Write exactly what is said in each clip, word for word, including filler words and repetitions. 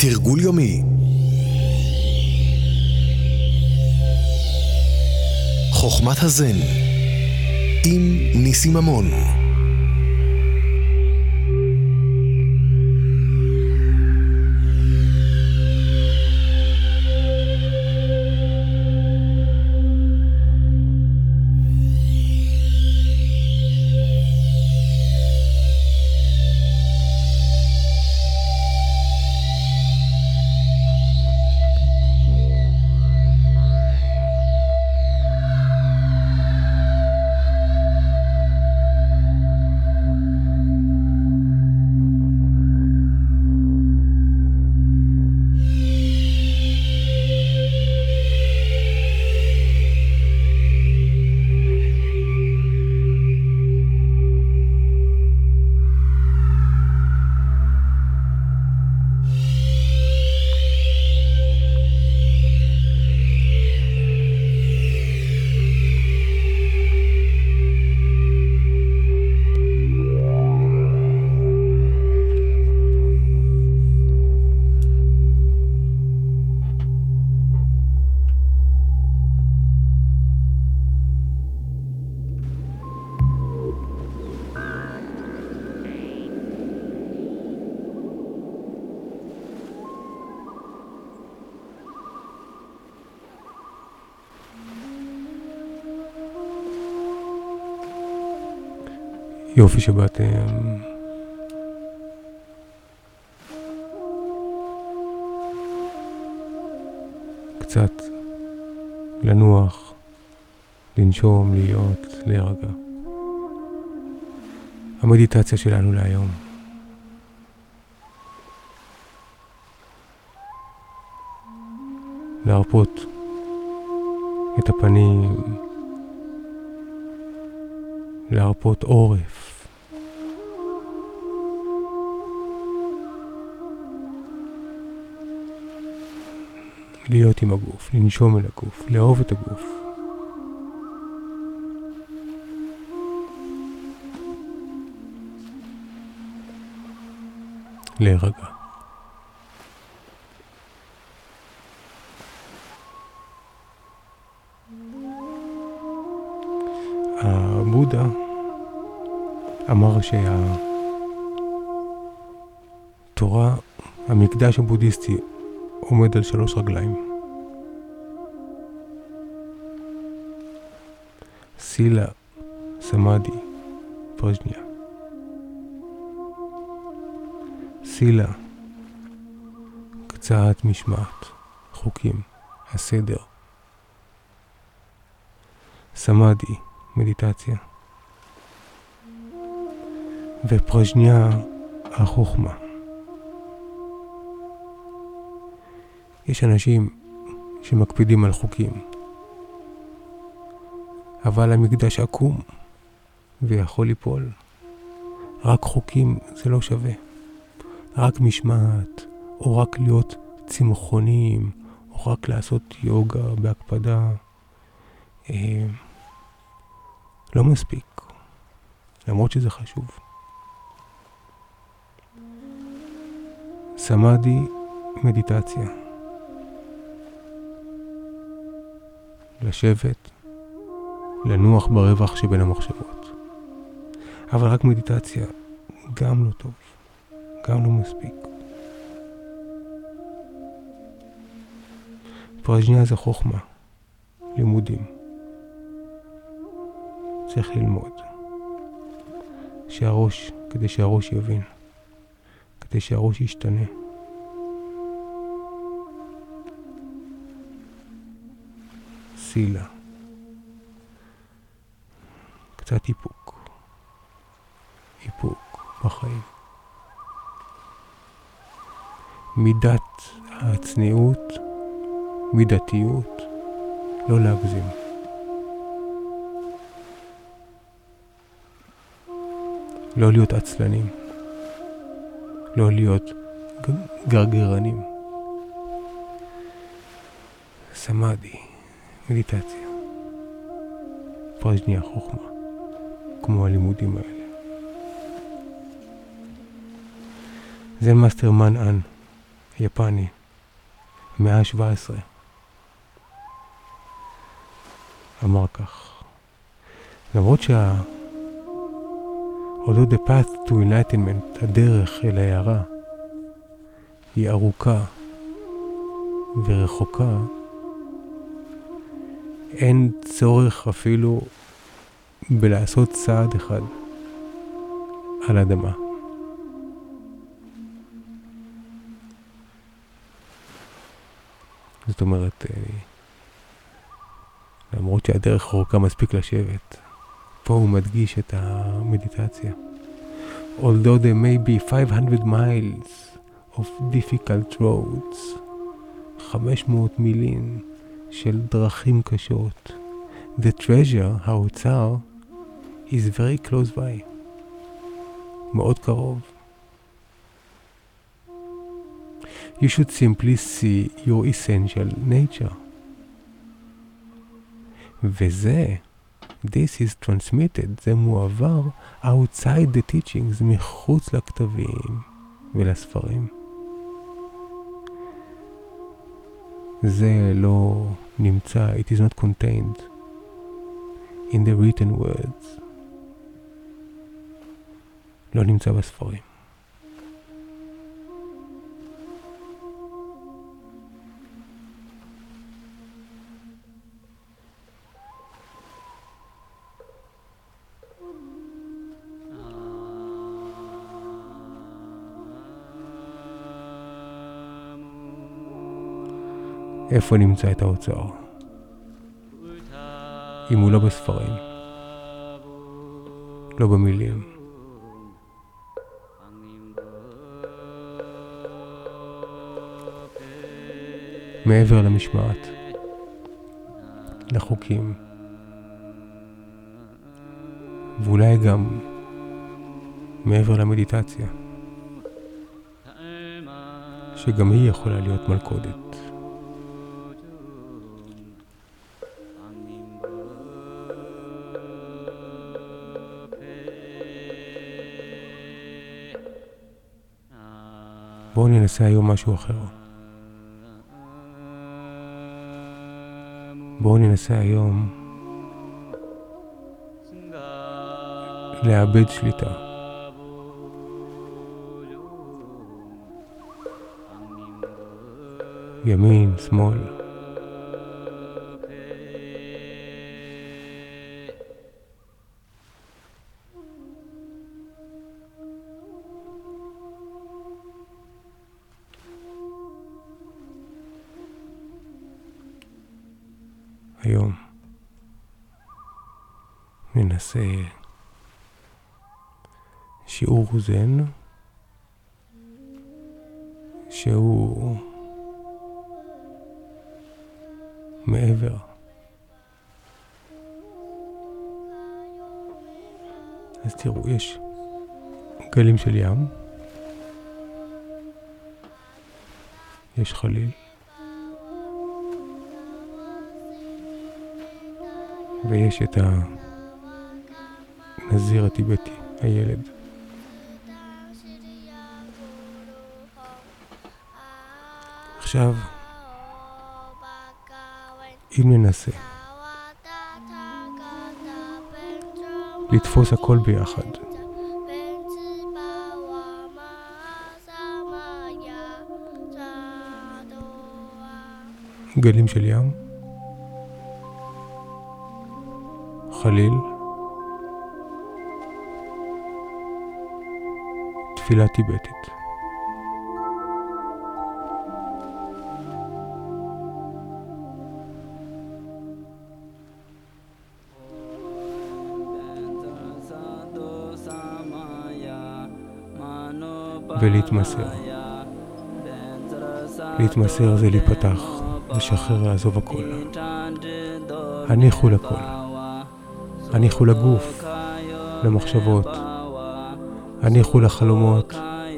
תרגול יומי. חוכמת הזן עם ניסים ממון. יופי שבאתם. קצת לנוח, לנשום, להיות, להירגע. המדיטציה שלנו להיום. להרפות את הפנים, להרפות עורף. להיות עם הגוף, לנשום אל הגוף, לאהוב את הגוף. להירגע. הבודה אמר שהתורה, המקדש הבודהיסטי, עומד על שלוש רגליים. סילה, סמאדי, פרג'ניה. סילה, קצת משמעת, חוקים, הסדר. סמאדי, מדיטציה. ופרג'ניה, החוכמה. יש אנשים שמקפידים על חוקים, אבל המקדש עקום ויכול ליפול. רק חוקים זה לא שווה. רק משמעת, או רק להיות צמחונים, או רק לעשות יוגה בהקפדה, אה, לא מספיק, למרות שזה חשוב. סמאדי, מדיטציה. לשבת, לנוח ברווח שבין המחשבות. אבל רק מדיטציה גם לא טוב, גם לא מספיק. פרג'ניה זה חוכמה, לימודים. צריך ללמוד. שהראש, כדי שהראש יבין, כדי שהראש ישתנה. סילה. קצת איפוק. איפוק בחיים. מידת הצניעות, מידתיות, לא להגזים. לא להיות עצלנים. לא להיות גרגרנים. סמאדי, מדיטציה. פרג'ניה, חוכמה. כמו הלימודים האלה. זה מאסטר מן אן, יפני, מאה ה-שבע עשרה, אמר כך: למרות שה... although the path to enlightenment, הדרך אל ההערה, היא ארוכה ורחוקה, אין צורך אפילו בלעשות צעד אחד על אדמה. זאת אומרת, למרות שהדרך רחוקה מספיק לשבת, פה הוא מדגיש את המדיטציה. Although there may be five hundred miles of difficult roads, חמש מאות מילים של דרכים קשות, the treasure, האוצר, is very close by. מאוד קרוב. You should simply see your essential nature. וזה, this is transmitted, זה מועבר outside the teachings, מחוץ לכתבים ולספרים. זה לא נמצא, it is not contained in the written words. לא נמצא בספרים. איפה נמצא את האוצר? אם הוא לא בספרים, לא במילים. מעבר למשמעת, לחוקים, ואולי גם מעבר למדיטציה, שגם היא יכולה להיות מלכודת. בואו ננסה היום משהו אחר. בואו ננסה היום לאבד שליטה. ימין, שמאל. היום ננסה שיעור זן שהוא מעבר. אז תראו, יש גלים של ים, יש חליל, ויש את הנזיר הטיבטי, הילד. עכשיו, אם ננסה לתפוס הכל ביחד, גלים של ים, חליל, תפילה טיבטית. ולהתמסר. להתמסר זה להיפתח, לשחרר, לעזוב הכל. הניחו לכל. הניחו לגוף, למחשבות. הניחו לחלומות.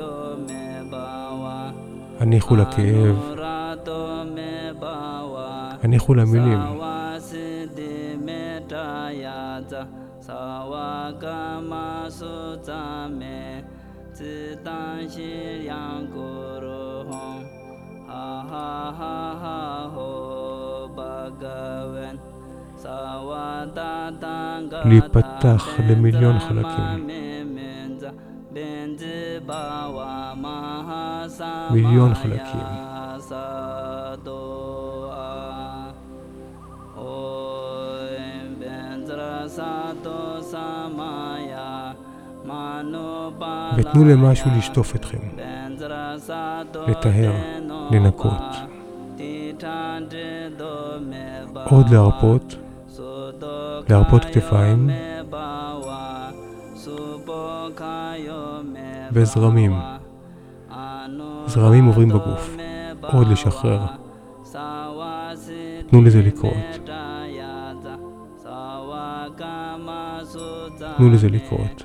הניחו לכאב. הניחו למילים. להיפתח למיליון חלקים. מיליון חלקים. ותנו למשהו לשטוף אתכם, לטהר, לנקות. עוד להרפות, להרפות כתפיים וזרמים. זרמים עוברים בגוף. עוד לשחרר. תנו לזה לקרות. תנו לזה לקרות.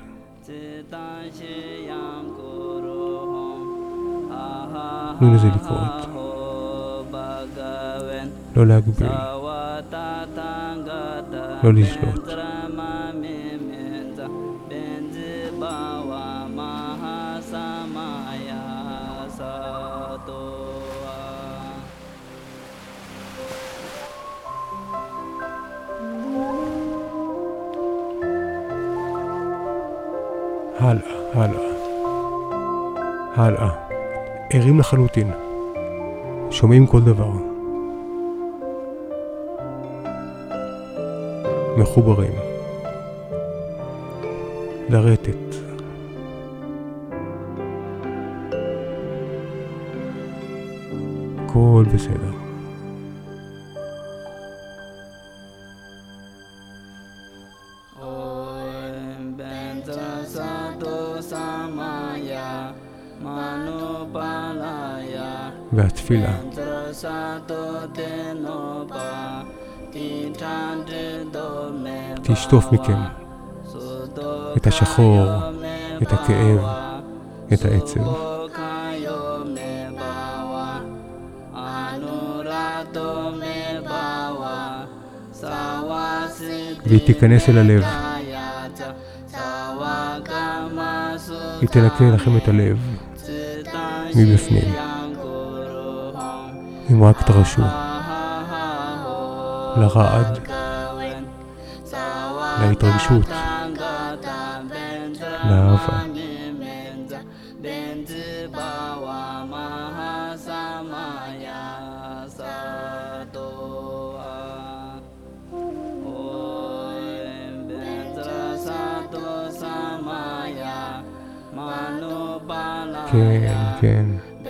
תנו לזה לקרות. לא להגביל. לא לשלוט. הלאה, הלאה. הלאה. ערים לחלוטין. שומעים כל דבר. מחוברים. לרטט. הכל בסדר. והתפילה תשטוף מכם את השחור, את הכאב, את העצב. והיא תיכנס אל הלב. היא תנקה לכם את הלב מבפנים. אם רק תרשו לרעד, להתרגשות, לאהבה. כן, כן.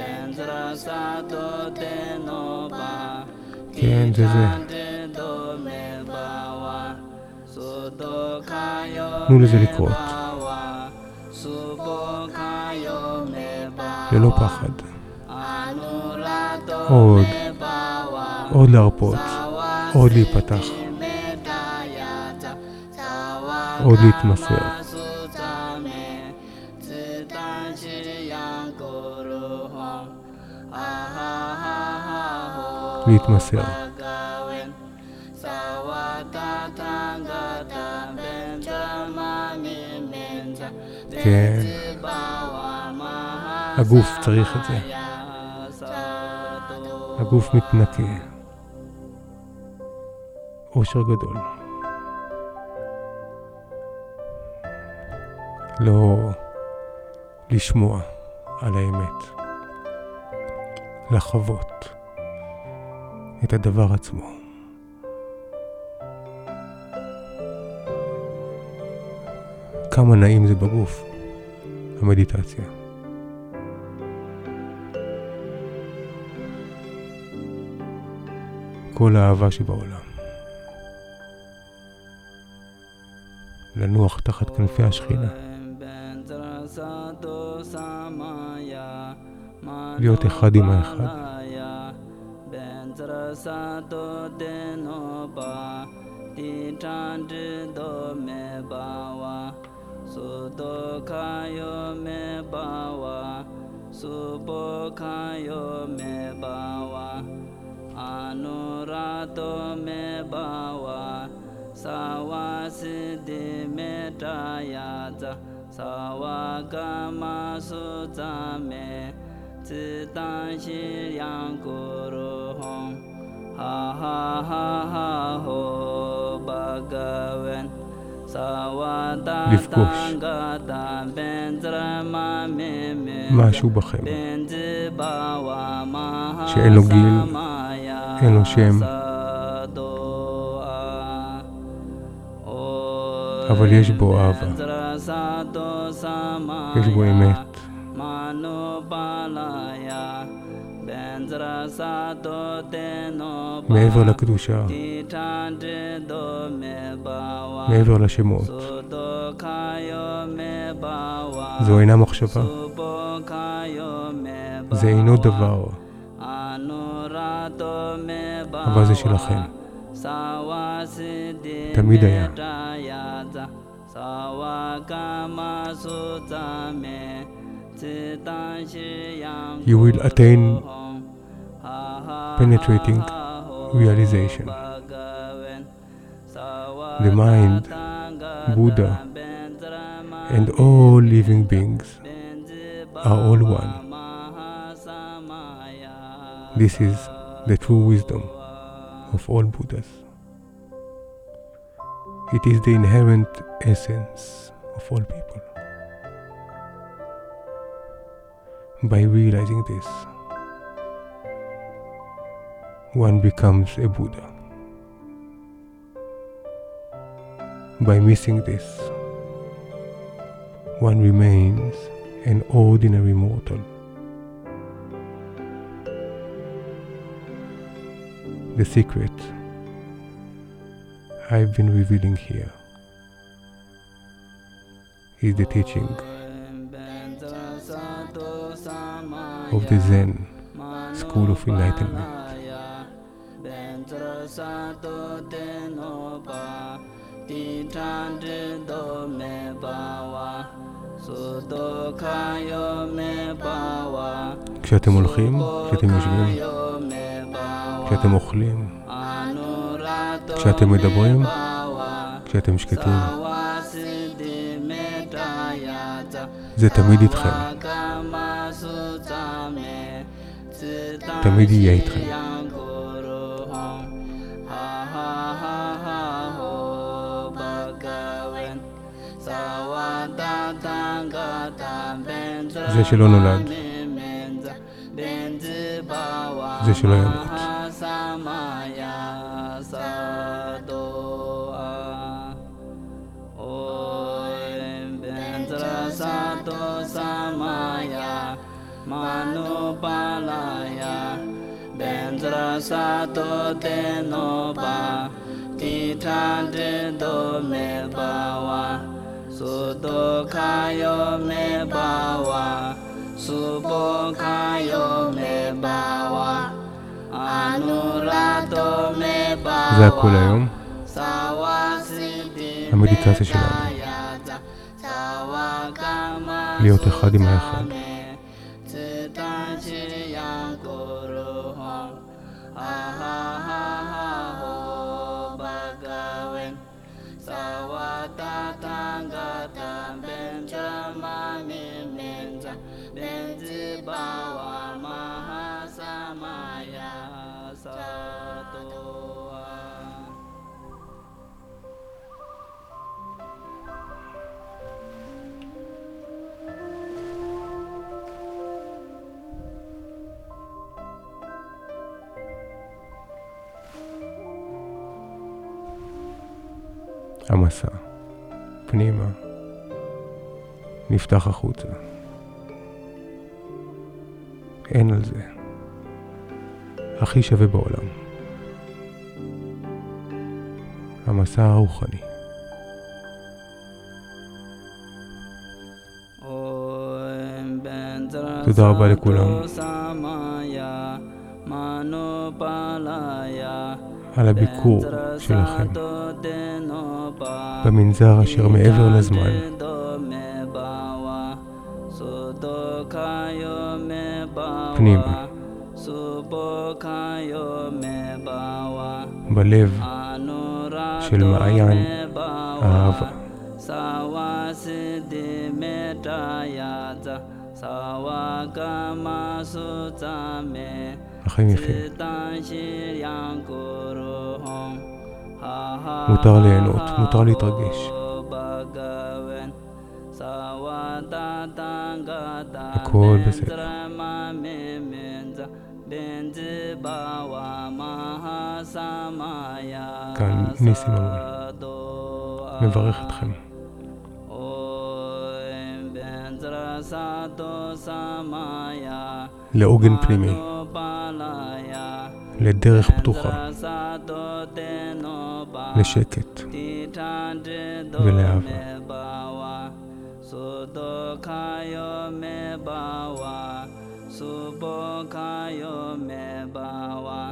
כן, זה זה. תנו לזה לקרות. ללא פחד. עוד. עוד להרפות. עוד להיפתח. עוד להתמסר. להתמסר. כן. הגוף צריך את זה. הגוף מתנקה. אושר גדול. לא לשמוע על האמת. לחוות את הדבר עצמו. כמה נעים זה בגוף, המדיטציה. כל האהבה שבעולם. לנוח תחת כנפי השכינה. להיות אחד עם האחד. Anurato me bawa sawasidi metayaza sawagama sutame לפגוש משהו בכם שאין לו גיל, אין לו שם, אבל יש בו אהבה, יש בו אמת, מעבר לקדושה, מעבר לשמות. זו אינה מחשבה, זה אינו דבר, אבל זה שלכם, תמיד היה. You will attain penetrating realization. The mind, Buddha, and all living beings are all one. This is the true wisdom of all Buddhas. It is the inherent essence of all people. By realizing this, one becomes a Buddha. By missing this, one remains an ordinary mortal. The secret I've been revealing here is the teaching of the Zen School of Enlightenment. כשאתם הולכים, כשאתם יושבים, כשאתם אוכלים, כשאתם מדברים, כשאתם שקטים, זה תמיד איתכם, תמיד יהיה איתכם. זה שלא נולד, זה שלא ימות. Sato tenoba titande do me bawa sudo kayo me bawa subo kayo me bawa anurado me bawa. זה הכל היום, המדיטציה שלנו, להיות אחד עם האחד. המסע, פנימה, נפתח החוצה. אין על זה. הכי שווה בעולם. המסע הרוחני. תודה רבה לכולם על הביקור שלכם במנזר אשר מעבר לזמן. פנימה, בלב של מעיין האהבה. Sawakama Sutame החיים יפים. Sitan Shiryan Kuruhom מותר ליהנות, מותר להתרגש. הכל בסדר. כאן ניסים ממון. מברך אתכם. לעוגן פנימי. לדרך פתוחה. לשקט. ולאהבה. Sudokhayo me bawa, subokhayo me bawa,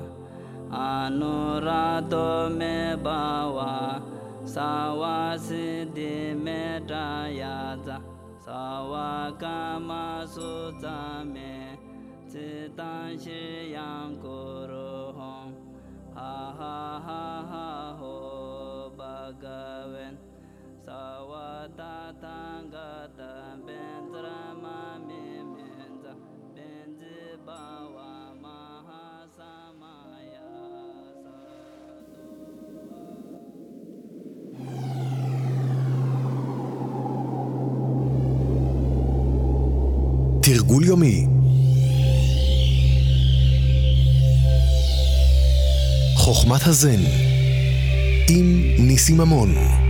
anurado me bawa, sawasidi me dayaza, sawakama sutame, citan shiyang kuruhom, ha ha ha ha ho bhagavan. Sawatatangata bendrama mimenza benzibawa mahasamaya sadhuva. תרגול יומי. חוכמת הזן עם ניסים ממון.